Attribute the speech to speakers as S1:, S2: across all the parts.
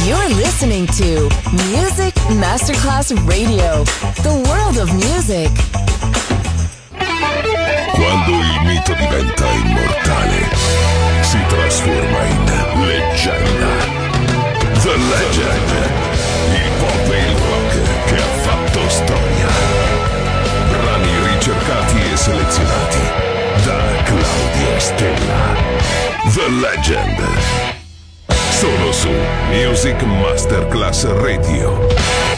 S1: You're listening to Music Masterclass Radio, the world of music.
S2: Quando il mito diventa immortale, si trasforma in leggenda. The Legend, il pop e il rock che ha fatto storia. Brani ricercati e selezionati da Claudio Stella. The Legend. Solo su Music Masterclass Radio.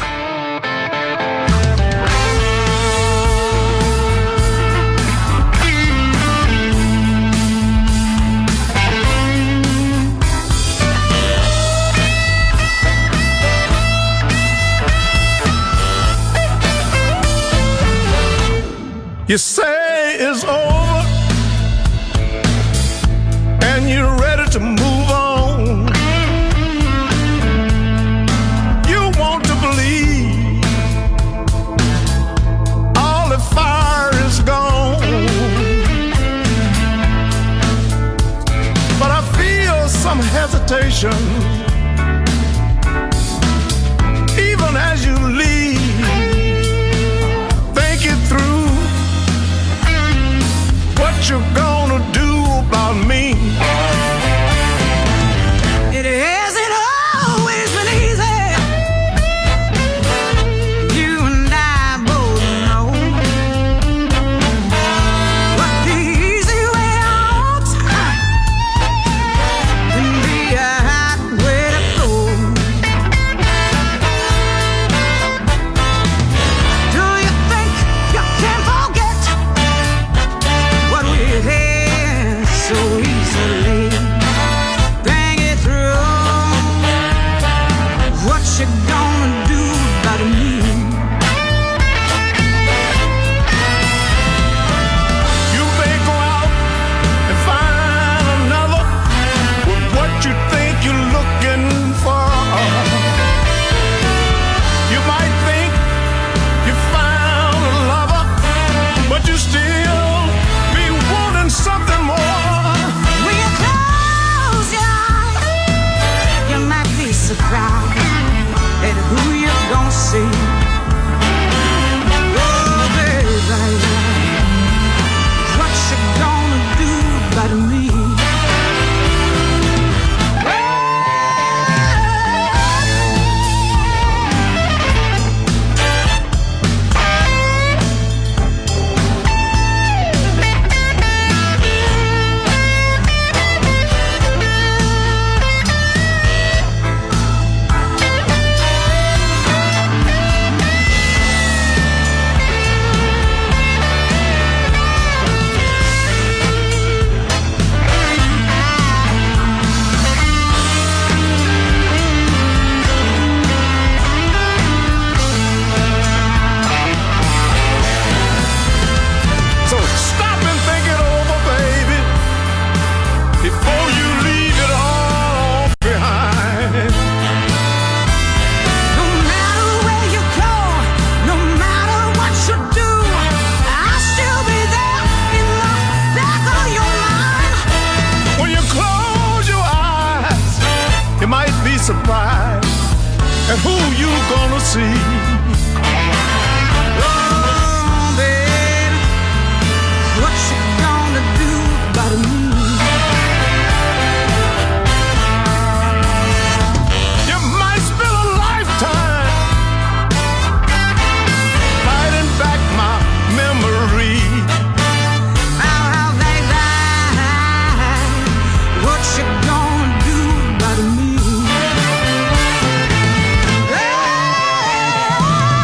S3: You say it's over and you're ready to move on. You want to believe all the fire is gone, but I feel some hesitation even as you leave. Think it through, what you gonna do about me? It hasn't always been easy. You and I both know what the easy way out can be a hot way to go. Do you think you can forget what we had so easily? Bring it through. What you gonna do about me? You may go out and find another with what you think you're looking for. You might think you found a lover, but you still be wanting something more. When you close your eyes, you might be surprised at who you're gonna see. Oh, baby, what you gonna do about me? So stop and think it over, baby, before you leave it all behind. No matter where you go, no matter what you do, I'll still be there in the back of your mind. When you close your eyes, you might be surprised at who you gonna see. Oh, baby, what you gonna do about me? You might spend a lifetime fighting back my memory. How they lie, what you gonna do about me?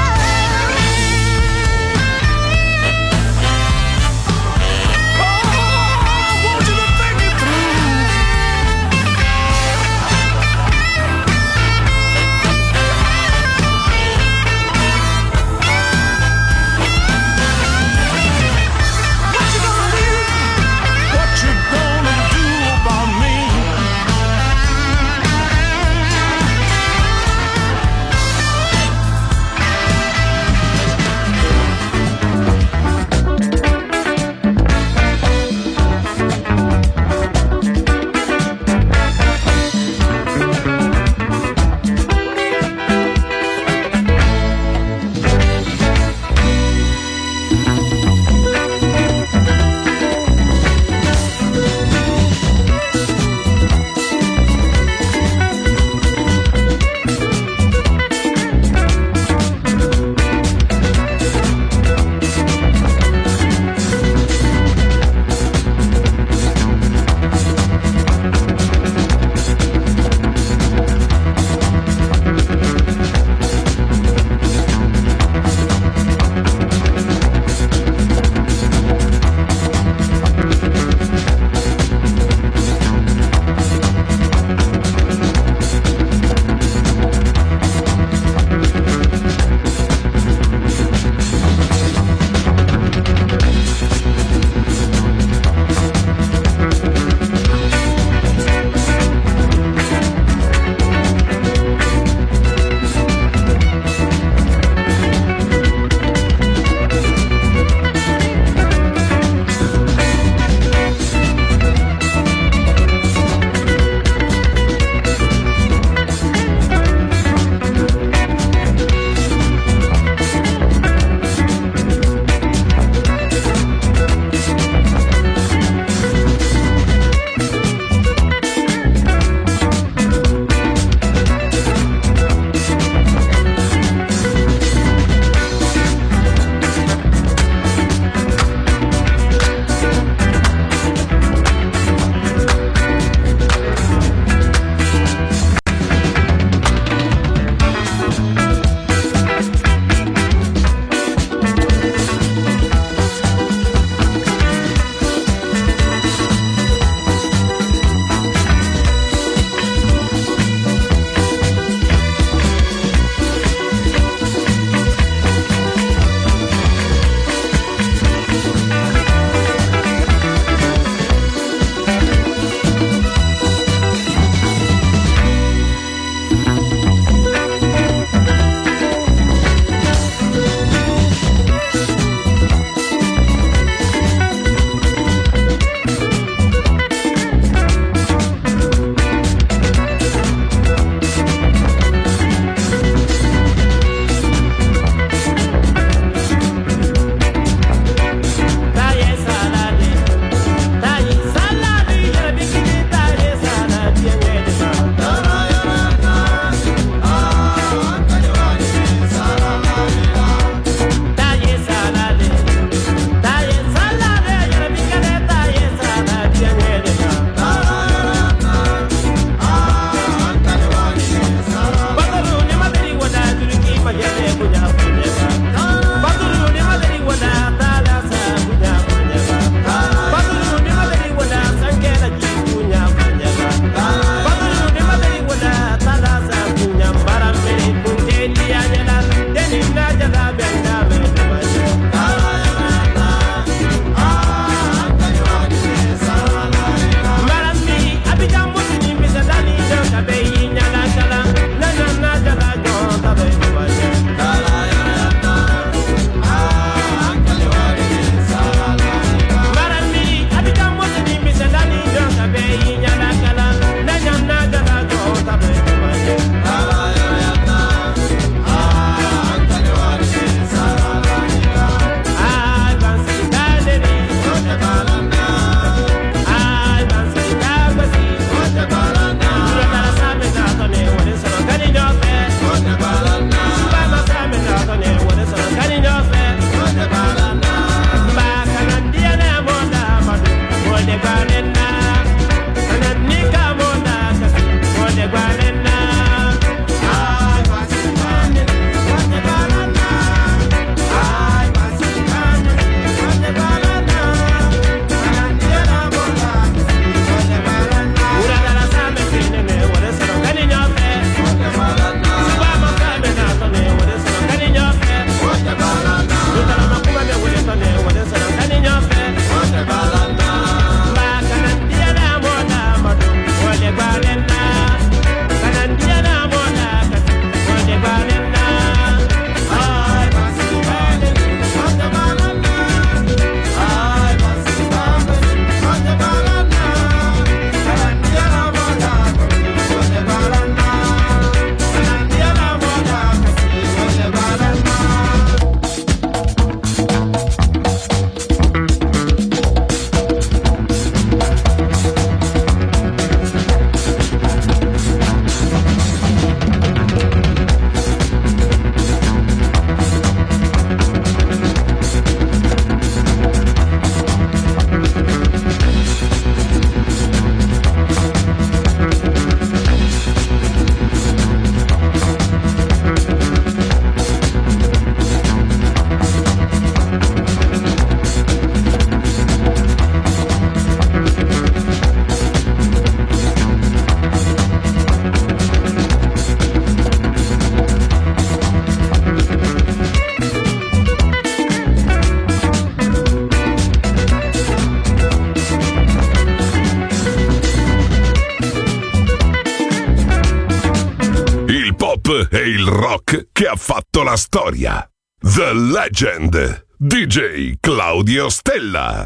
S2: pop e il rock che ha fatto la storia. The Legend, DJ Claudio Stella.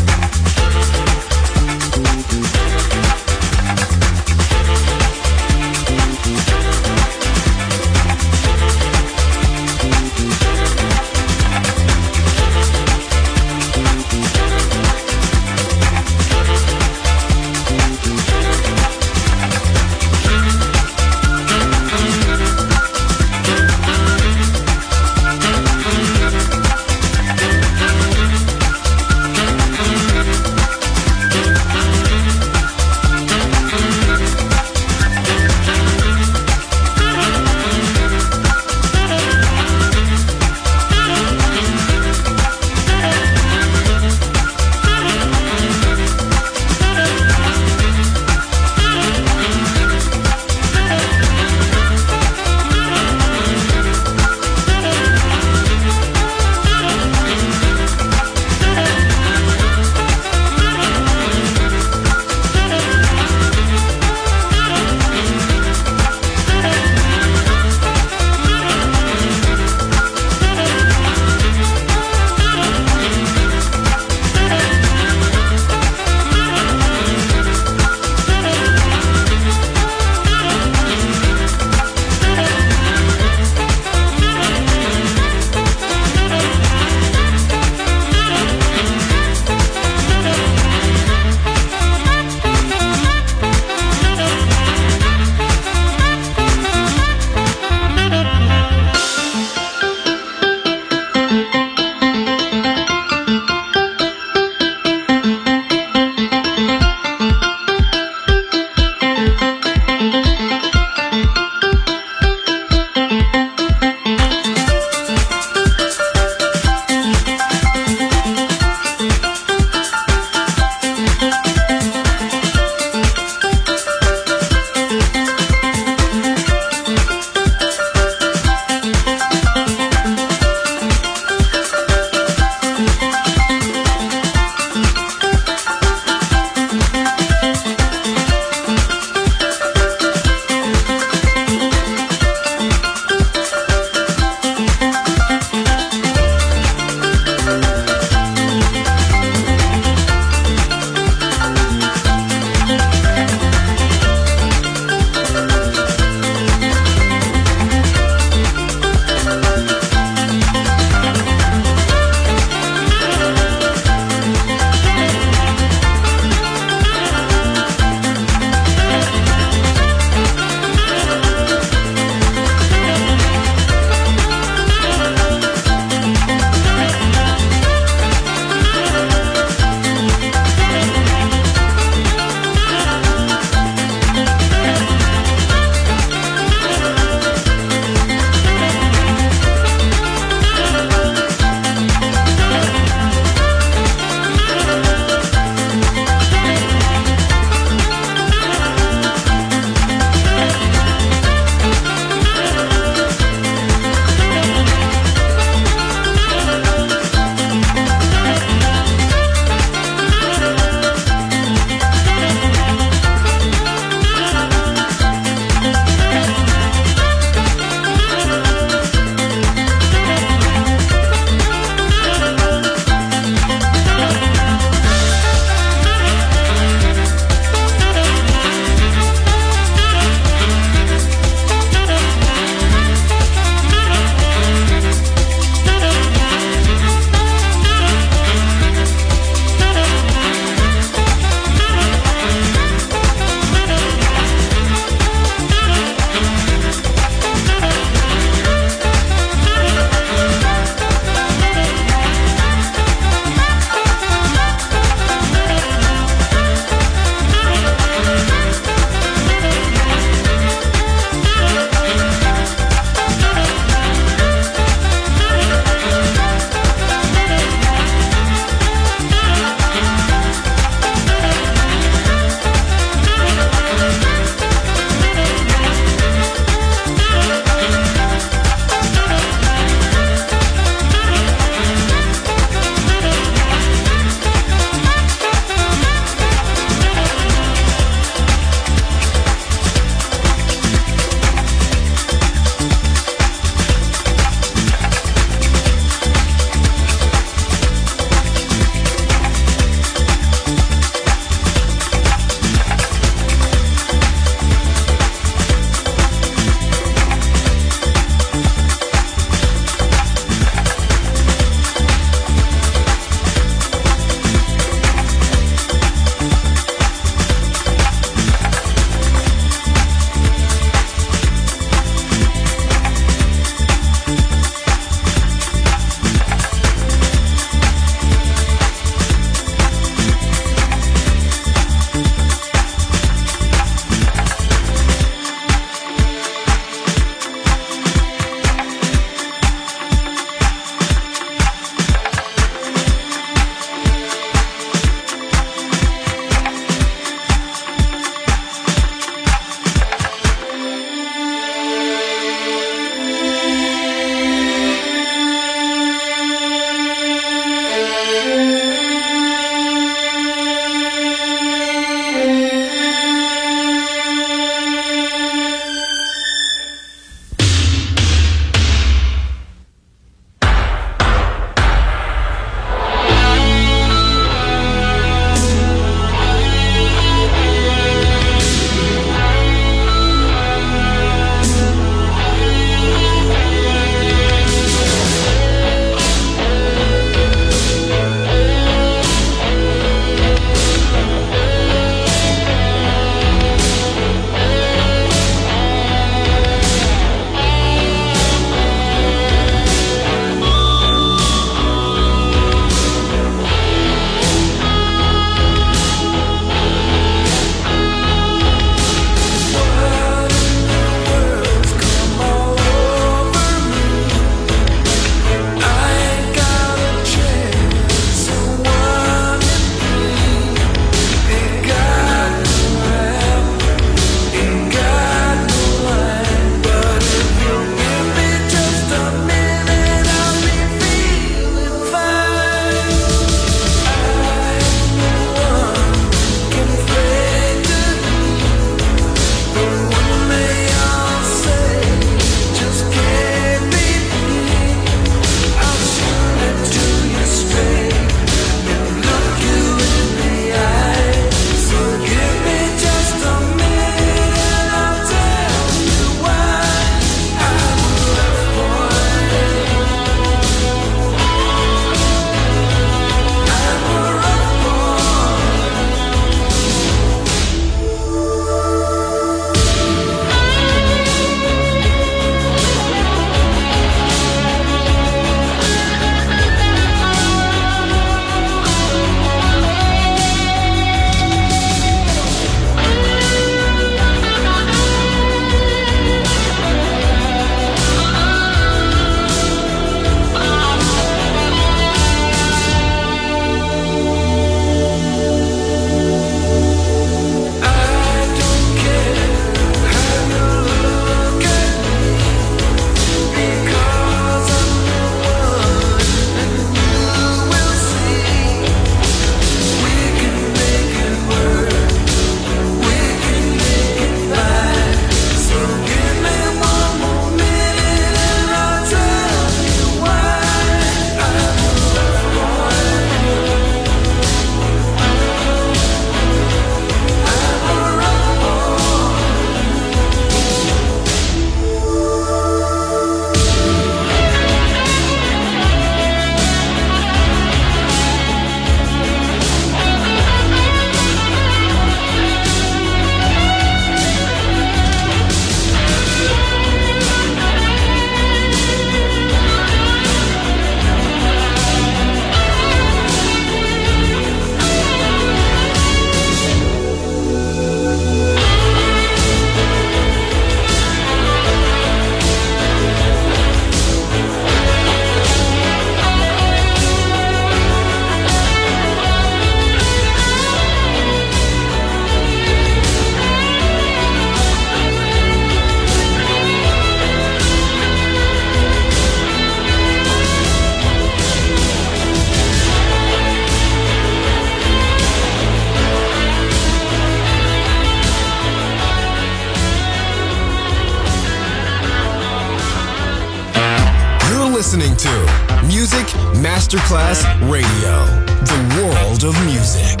S4: listening to Music Masterclass Radio, the world of music.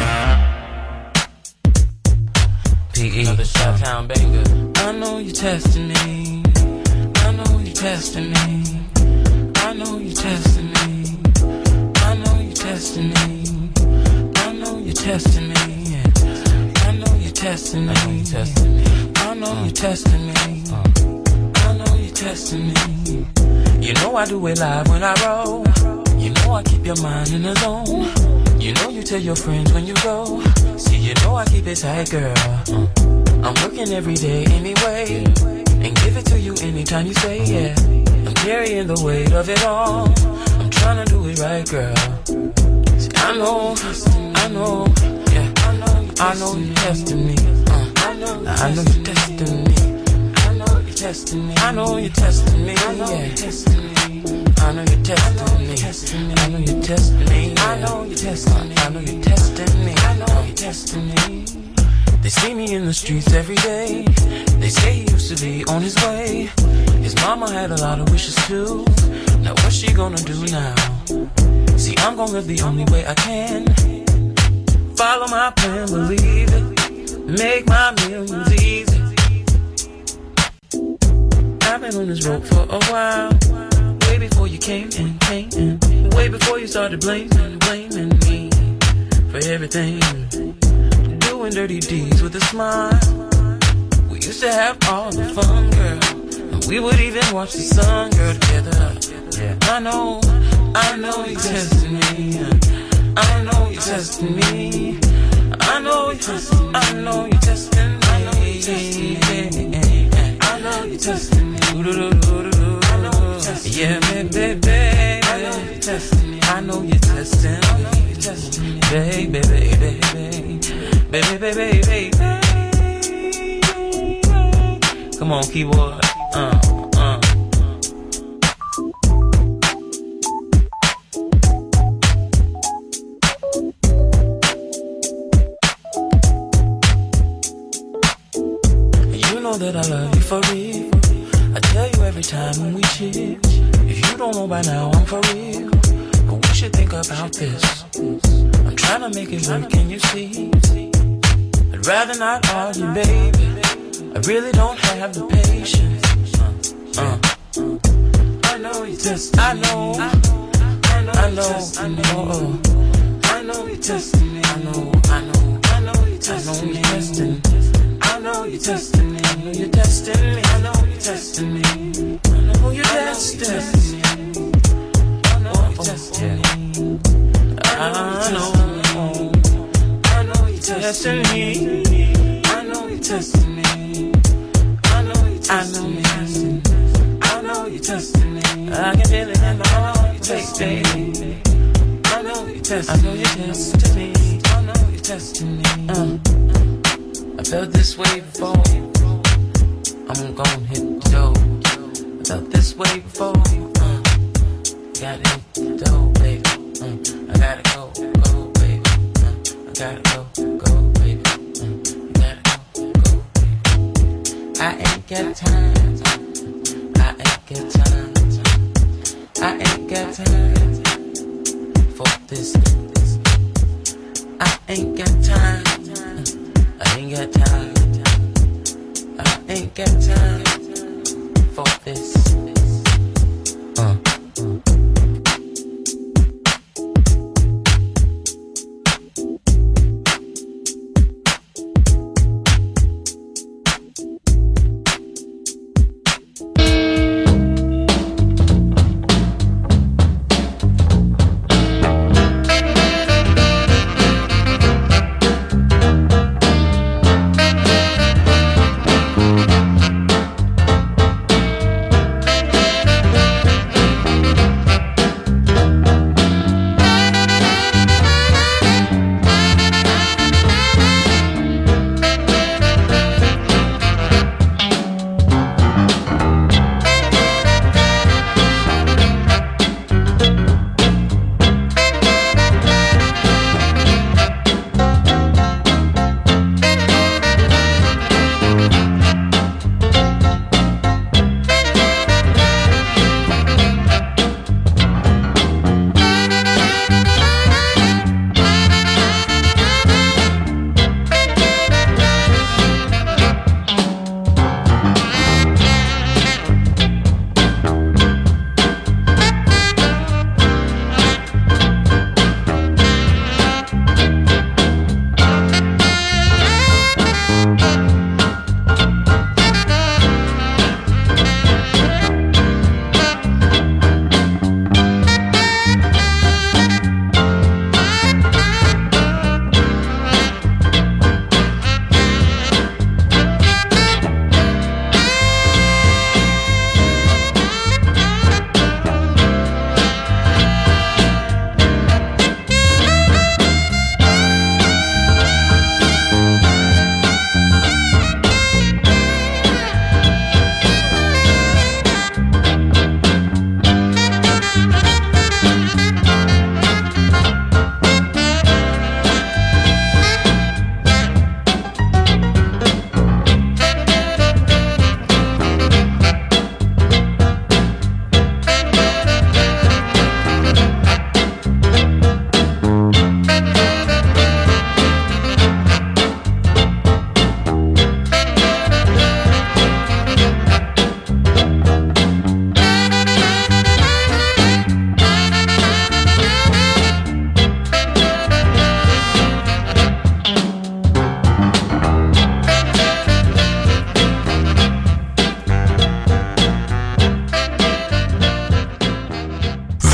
S5: P.E. Another Shot-Town banger. I know you're testing me. I know you're testing me. I know you're testing me. I know you're testing me. I know you're testing me. Yeah. I know you're testing me. I know you're testing me. I know you're testing me. You know I do it live when I roll. You know I keep your mind in the zone. You know you tell your friends when you go. See, you know I keep it tight, girl. I'm working every day anyway, and give it to you anytime you say yeah. I'm carrying the weight of it all. I'm trying to do it right, girl. See, I know, yeah. I know you're testing me. I know you're testing me. I know you're testing me. I know you're testing me. I know you're testing me. I know you're testing me. I know you're testing me. I know you're testing me. I know you're testing me. I know you're testing me. They see me in the streets every day. They say he used to be on his way. His mama had a lot of wishes too. Now what's she gonna do now? See, I'm gonna live the only way I can. Follow my plan, believe it. Make my millions easy. I've been on this road for a while. Way before you came in. Way before you started blaming me for everything. Doing dirty deeds with a smile. We used to have all the fun, girl. And we would even watch the sun, girl, together. Yeah. I know you're testing me. I know you're testing me. I know you're testing me. I know you're testing me. I know you're testing me. I know you're testing me. Yeah, baby. I know you're testing me. I know you're testing me. Baby. Baby. Come on, keyboard. You know that I love you for real. I tell you every time when we chill. If you don't know by now, I'm for real. But we should think about this. I'm trying to make it work, can you see? I'd rather not argue, baby. I really don't have the patience. I know you testing me. I know you testing me. I know you testing me. I know you testing me. I know you're testing me. I know you're testing me. I know you're testing me. I know you're testing me. I know you're testing me. I know you're testing me. I know you're testing me. I know you're testing me. I can feel it in my heart, baby. I know you're testing me. I know you're testing me. I know you're testing me. I felt this way before. I'm gon' hit the door. I felt this way before. Gotta hit the door, baby. I gotta go, baby. I gotta go, baby. I gotta go, baby. I ain't got time. I ain't got time. I ain't got time for this. I ain't got time. I ain't got time. I ain't got time for this.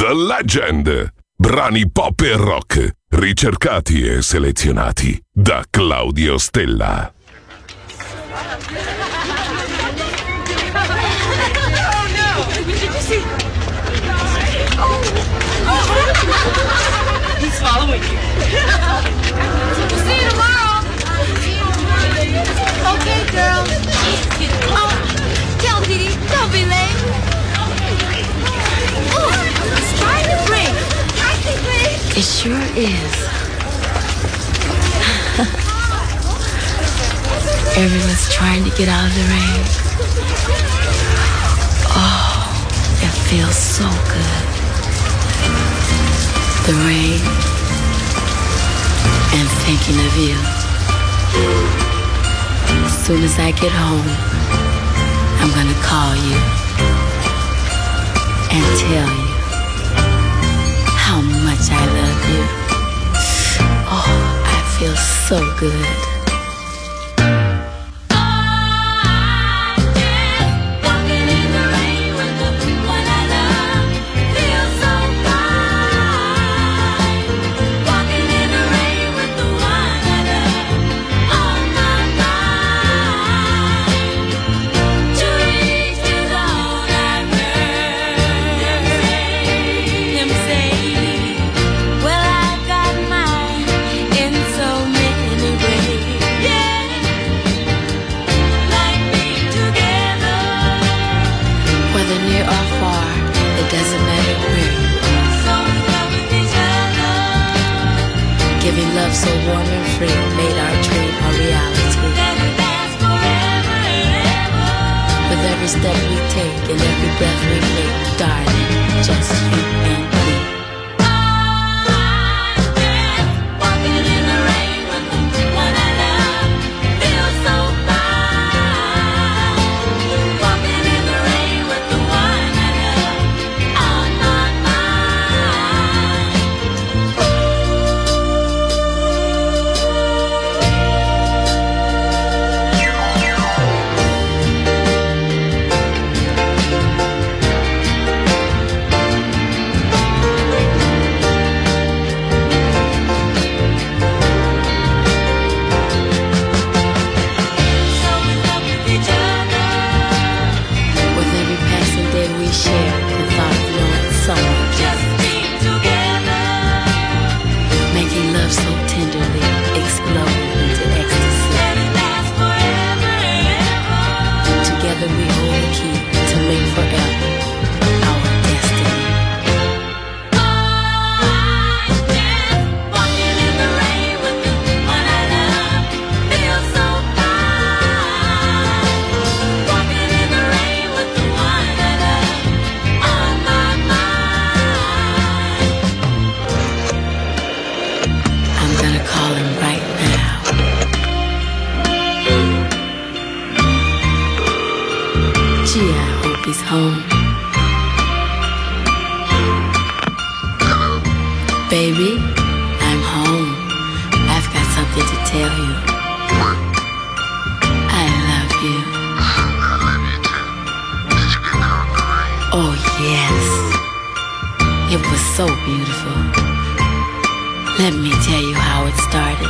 S2: The Legend. Brani pop e rock, ricercati e selezionati da Claudio Stella.
S6: He's following you.
S7: We'll see you tomorrow. Okay, girl. Oh, tell Didi, don't be late. Oh, it's trying to break. It sure is. Everyone's trying to get out of the rain. Oh, it feels so good. The rain and thinking of you. As soon as I get home, I'm gonna call you and tell you how much I love you. Oh, I feel so good. Giving love so warm and free made our dream a reality. With every step we take and every breath we make, darling, just you and me. Walking in the rain with the one I love feels so fine. Walking in the rain with the one I love on my mind. Home. Baby, I'm home. I've got something to tell you.
S8: What?
S7: I love you.
S8: I love you too. Did you get caught in the rain?
S7: Oh, yes. It was so beautiful. Let me tell you how it started.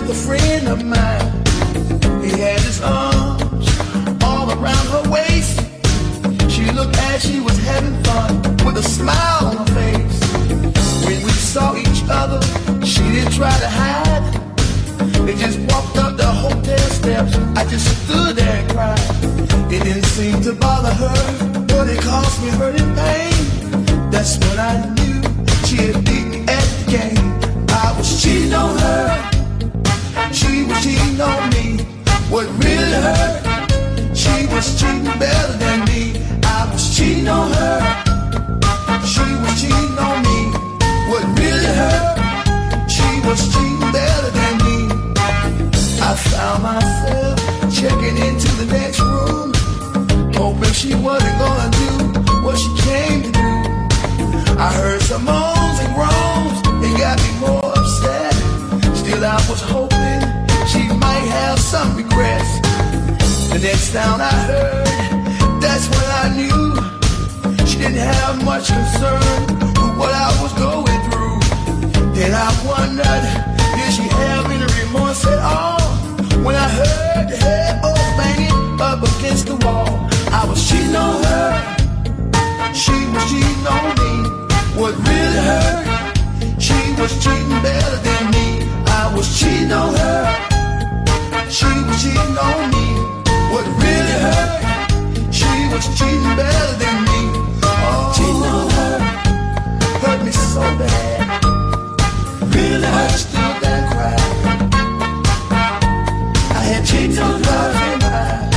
S3: a friend of mine. He had his arms all around her waist. She looked as she was having fun with a smile on her face. When we saw each other, she didn't try to hide. They just walked up the hotel steps. I just stood there and cried. It didn't seem to bother her, but it caused me hurt and pain. That's when I knew she had beat me at the game. I was cheating on her, she was cheating on me. What really hurt, she was cheating better than me. I was cheating on her, she was cheating on me. What really hurt, she was cheating better than me. I found myself checking into the next room, hoping she wasn't gonna do what she came to do. I heard some moans and groans, it got me more upset. Still I was hoping she might have some regrets. The next sound I heard, that's when I knew she didn't have much concern with what I was going through. Then I wondered, did she have any remorse at all? When I heard the headboard banging up against the wall, I was cheating on her, she was cheating on me. What really hurt, she was cheating better than me. I was cheating on her, she was cheating on me. What really hurt, she was cheating better than me. Oh, cheating on her hurt me so bad, really hurt, still that cry. I had cheated on her in my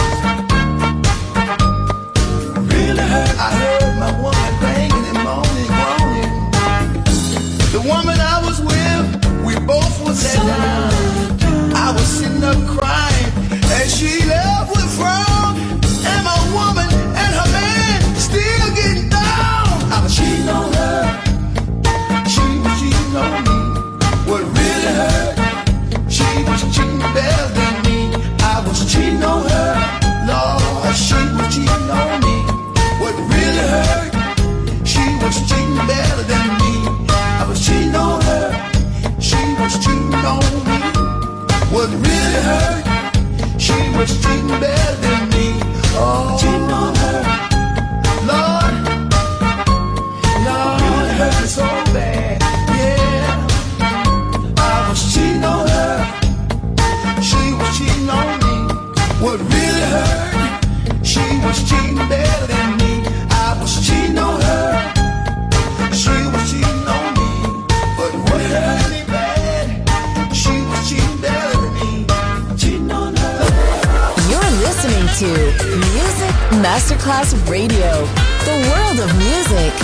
S3: eyes. Really hurt, I heard my woman banging and moaning, groaning. The woman I was with, we both was sat down. I was sitting up crying, and she left with frown. And my woman and her man still getting down. I was cheating on her, she was cheating on me. What really hurt, she was cheating better than me. I was cheating on her, Lord, she was cheating on me. What really hurt, she was cheating better than me. I was cheating on her, she was cheating on me. What really hurt, she was cheating better than me. Oh, cheating on her, Lord, Lord, it hurt me so bad, yeah. I was cheating on her, she was cheating on me. What really hurt, she was cheating better than me. I was cheating on her, she was cheating on me. But what hurt me bad, she was cheating better than me. Cheating on her.
S1: You're listening to Music Masterclass Radio, the world of music.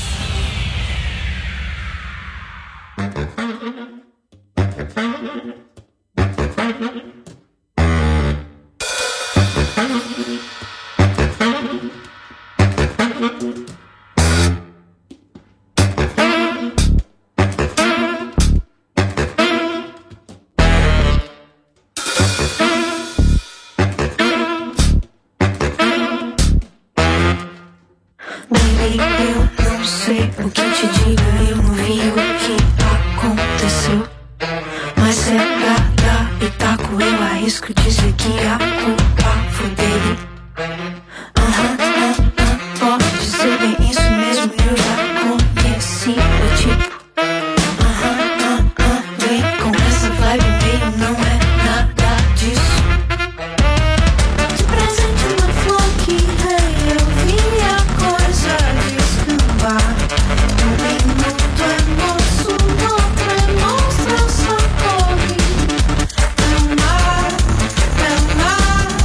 S6: Baby, eu não sei o que te digo, eu não vi o que aconteceu. Mas é dar pitaco, eu arrisco dizer que a culpa foi dele. Pode ser bem isso mesmo, eu já conheci o tipo. Vem com essa vibe meio, não é nada disso. De presente uma flor que veio, eu vi a coisa descambar. Um minuto é moço, outro é monstra, só corre. Pra amar,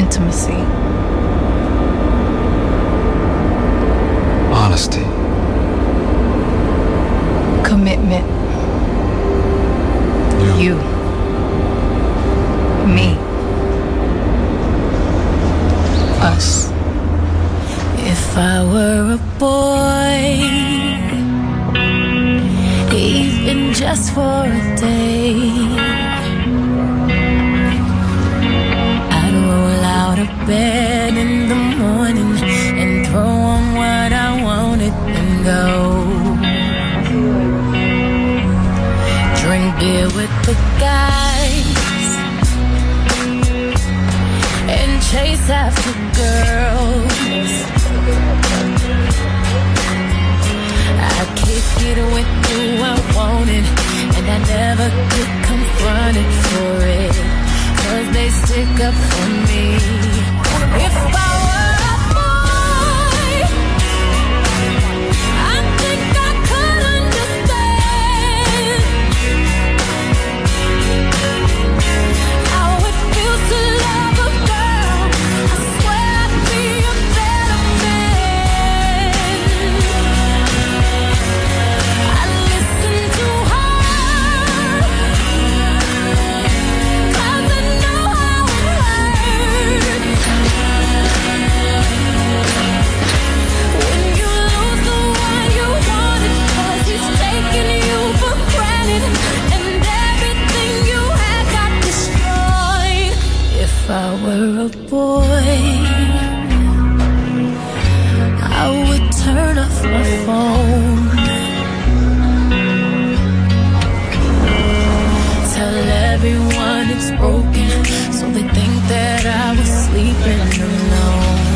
S9: Intimacy.
S10: Honesty.
S9: Commitment. You. Me. Us.
S6: If I were a boy, even just for a day, I'd roll out of bed in the morning and throw on what I wanted and go. Drink beer with the guys and chase after girls. I kick it with who I wanted, and I never get confronted for it, 'cause they stick up for me. If I were a boy, I think I could understand how it feels to love a girl. I swear I'd be a better man. I listen to her, 'cause I know how it hurts when you lose the one you wanted, 'cause he's taking you for granted, and everything you had got destroyed. If I were a boy, I would turn off my phone, tell everyone it's broken, so they think that I was sleeping alone.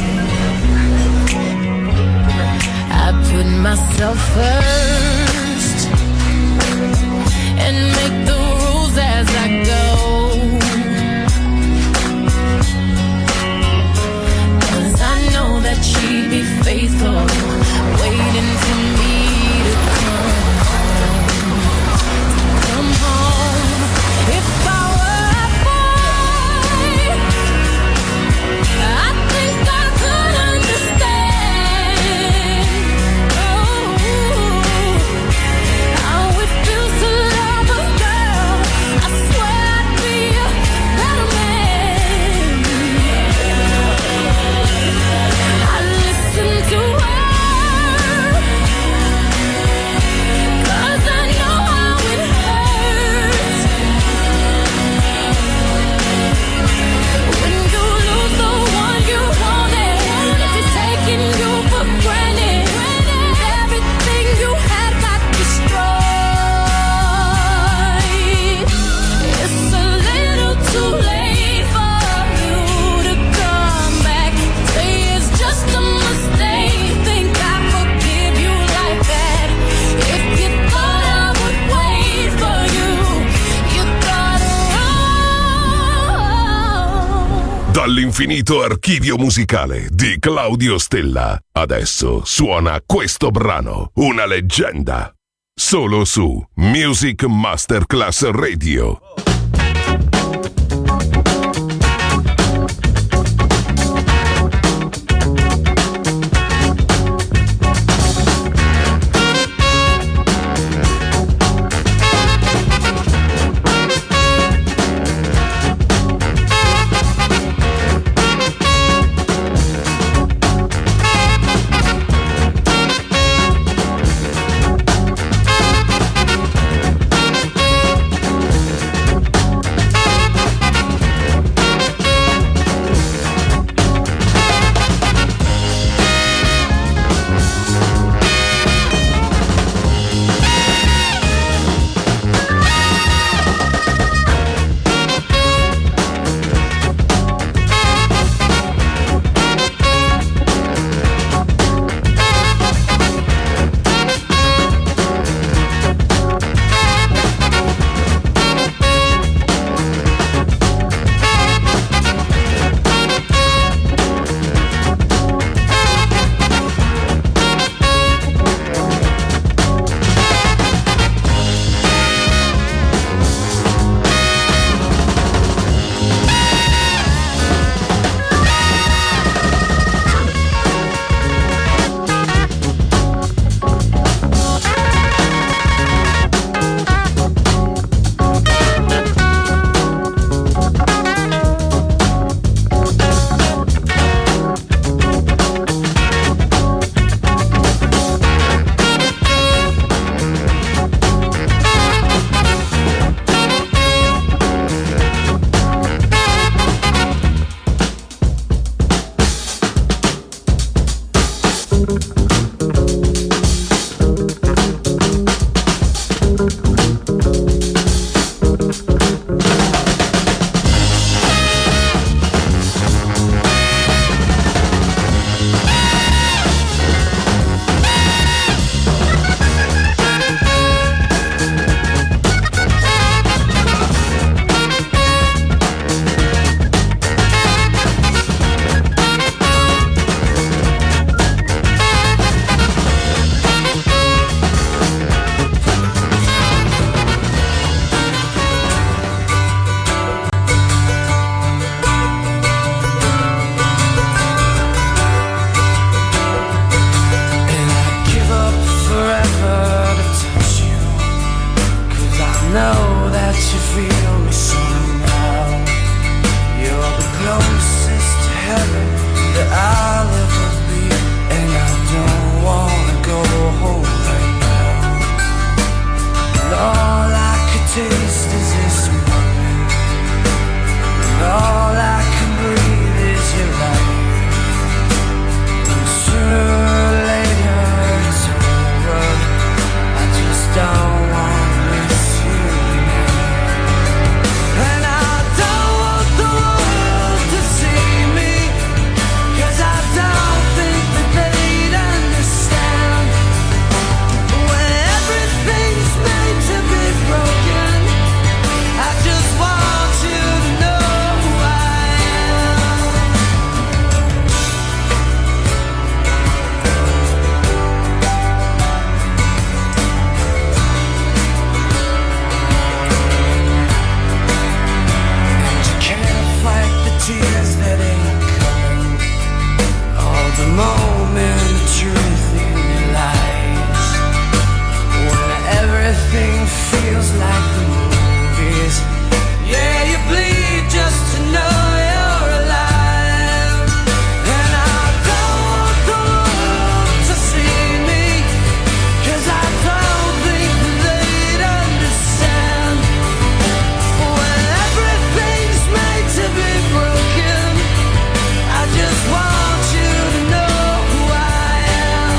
S6: I put myself first and make the rules as I go, 'cause I know that she'd be faithful, waiting for me to come home. If I were a boy, I think I could understand how it feels to love a girl. I swear I'd be a better man. I listen to her, 'cause I know how it hurts when you lose the one you wanted, if he's taking you for granted, everything you had got destroyed. It's a little too late for you to come back. Say it's just a mistake, think I forgive you like that. If you thought I would wait for you, you thought wrong.
S2: Dall'infinito archivio musicale di Claudio Stella. Adesso suona questo brano, una leggenda. Solo su Music Masterclass Radio.
S3: feels like the movies. Yeah, you bleed just to know you're alive. And I don't want the world to see me, 'cause I don't think they'd understand. When everything's made to be broken, I just want you to know who I am.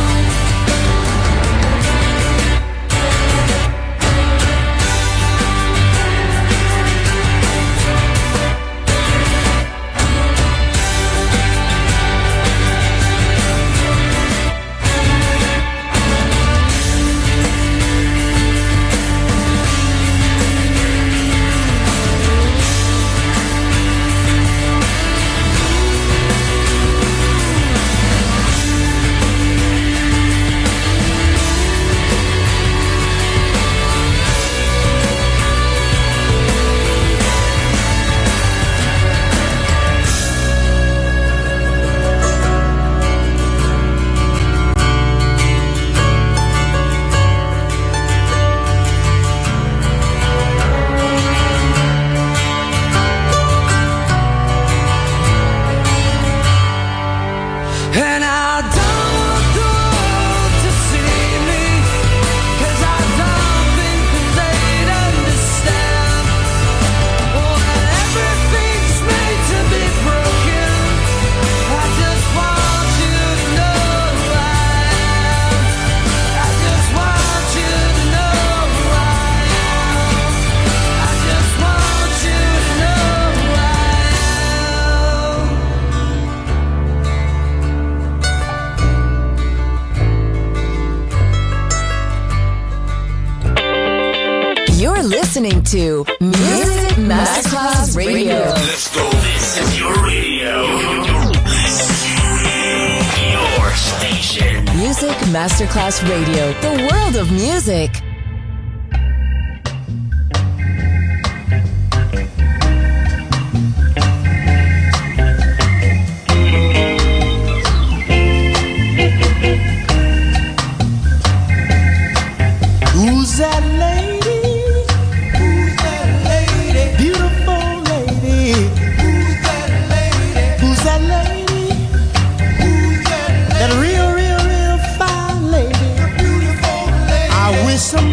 S3: And I don't want the world to see me, 'cause I don't think that they'd understand. When everything's made to be broken, I just want you to know who I am. I just want you to know who I am. I just want you to know who I am.
S1: You're listening to Music Masterclass Radio.
S10: Let's go. This is your radio. Your station.
S1: Music Masterclass Radio, the world of music.
S3: Who's that lady? Who's that lady? Beautiful lady. Who's that lady? Who's that lady? Who's that lady? That real, real, real fine lady. The beautiful lady. I wish some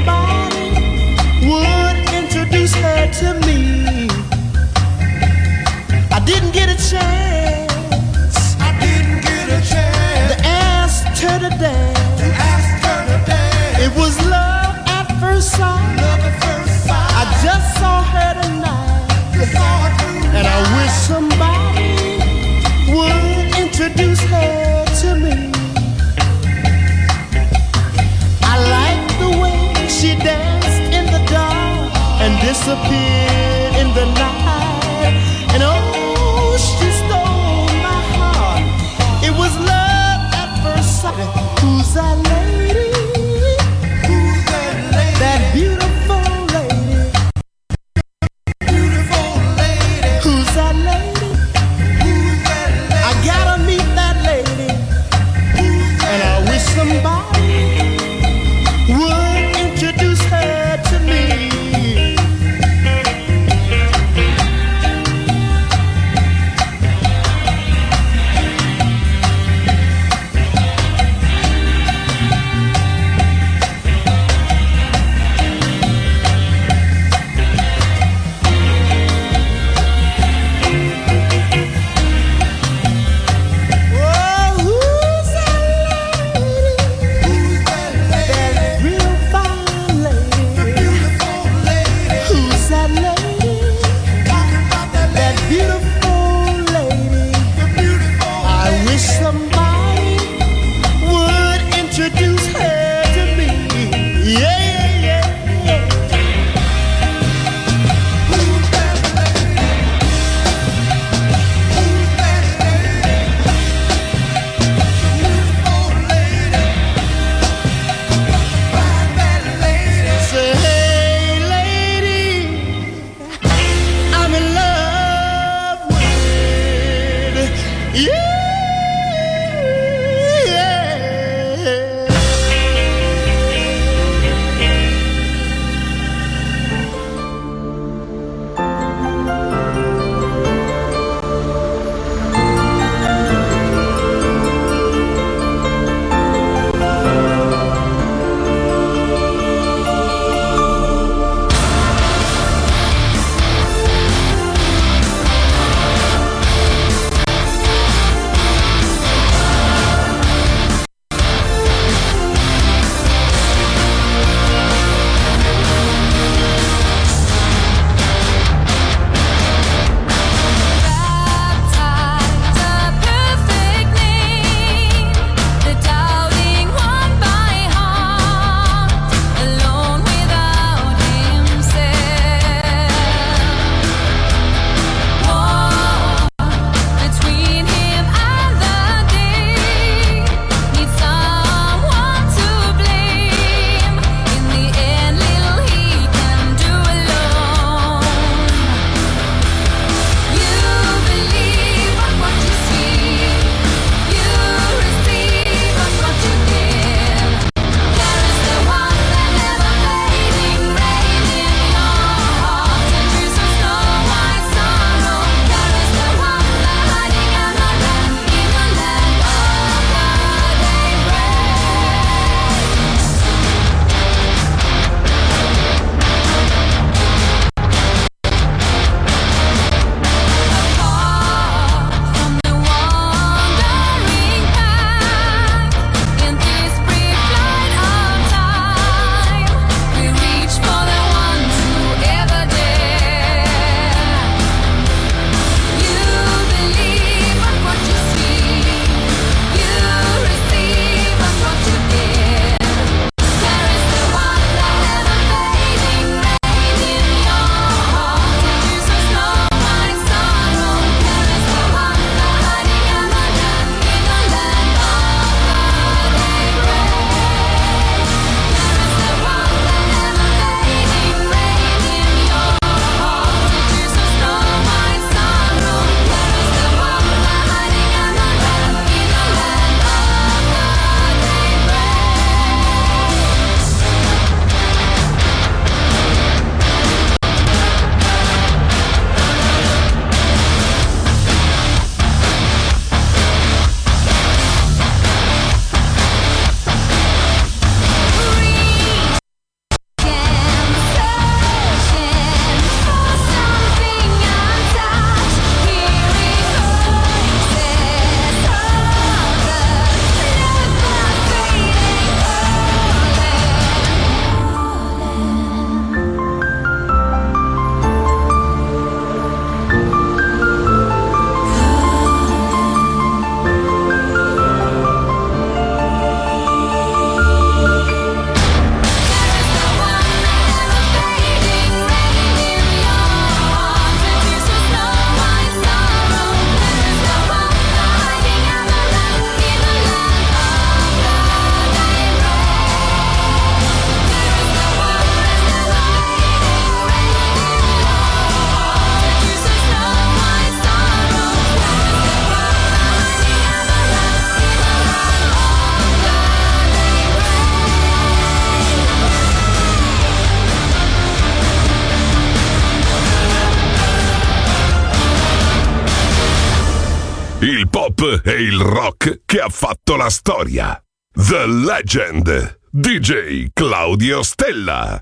S2: il pop e il rock che ha fatto la storia. The Legend, DJ Claudio Stella.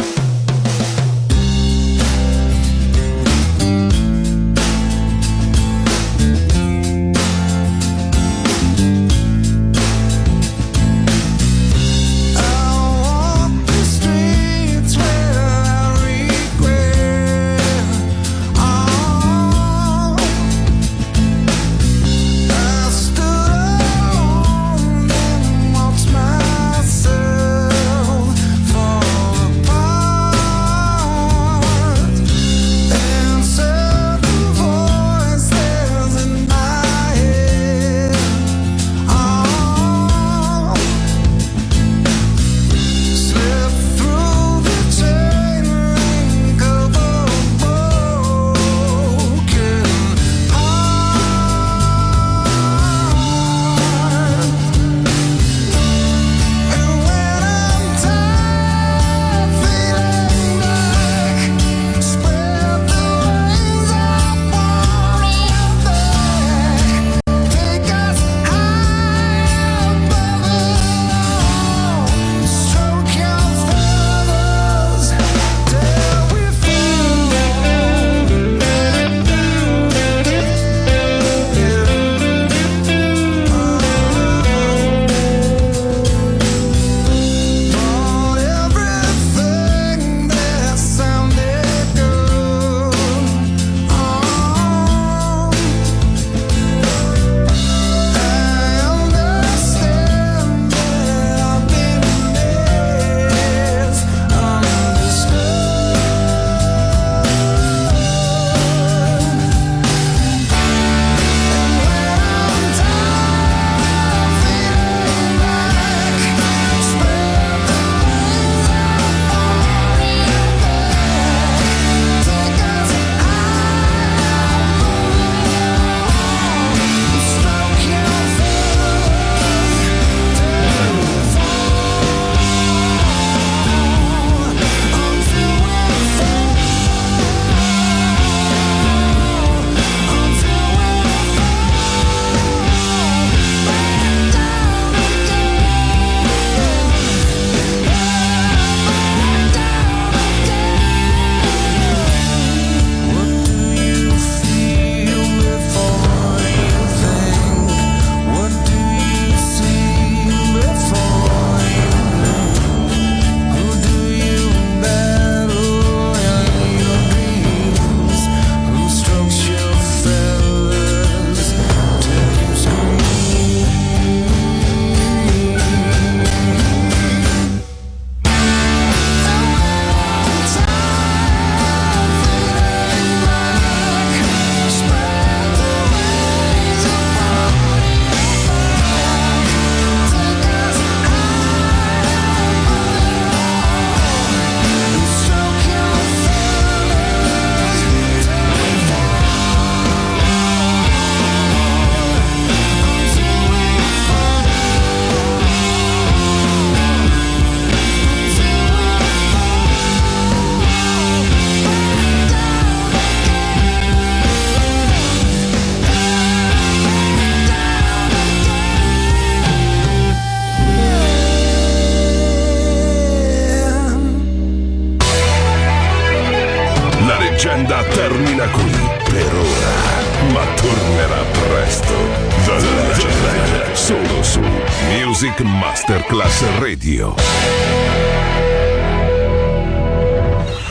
S2: leggenda termina qui per ora, ma tornerà presto. The Legend, solo su Music Masterclass Radio.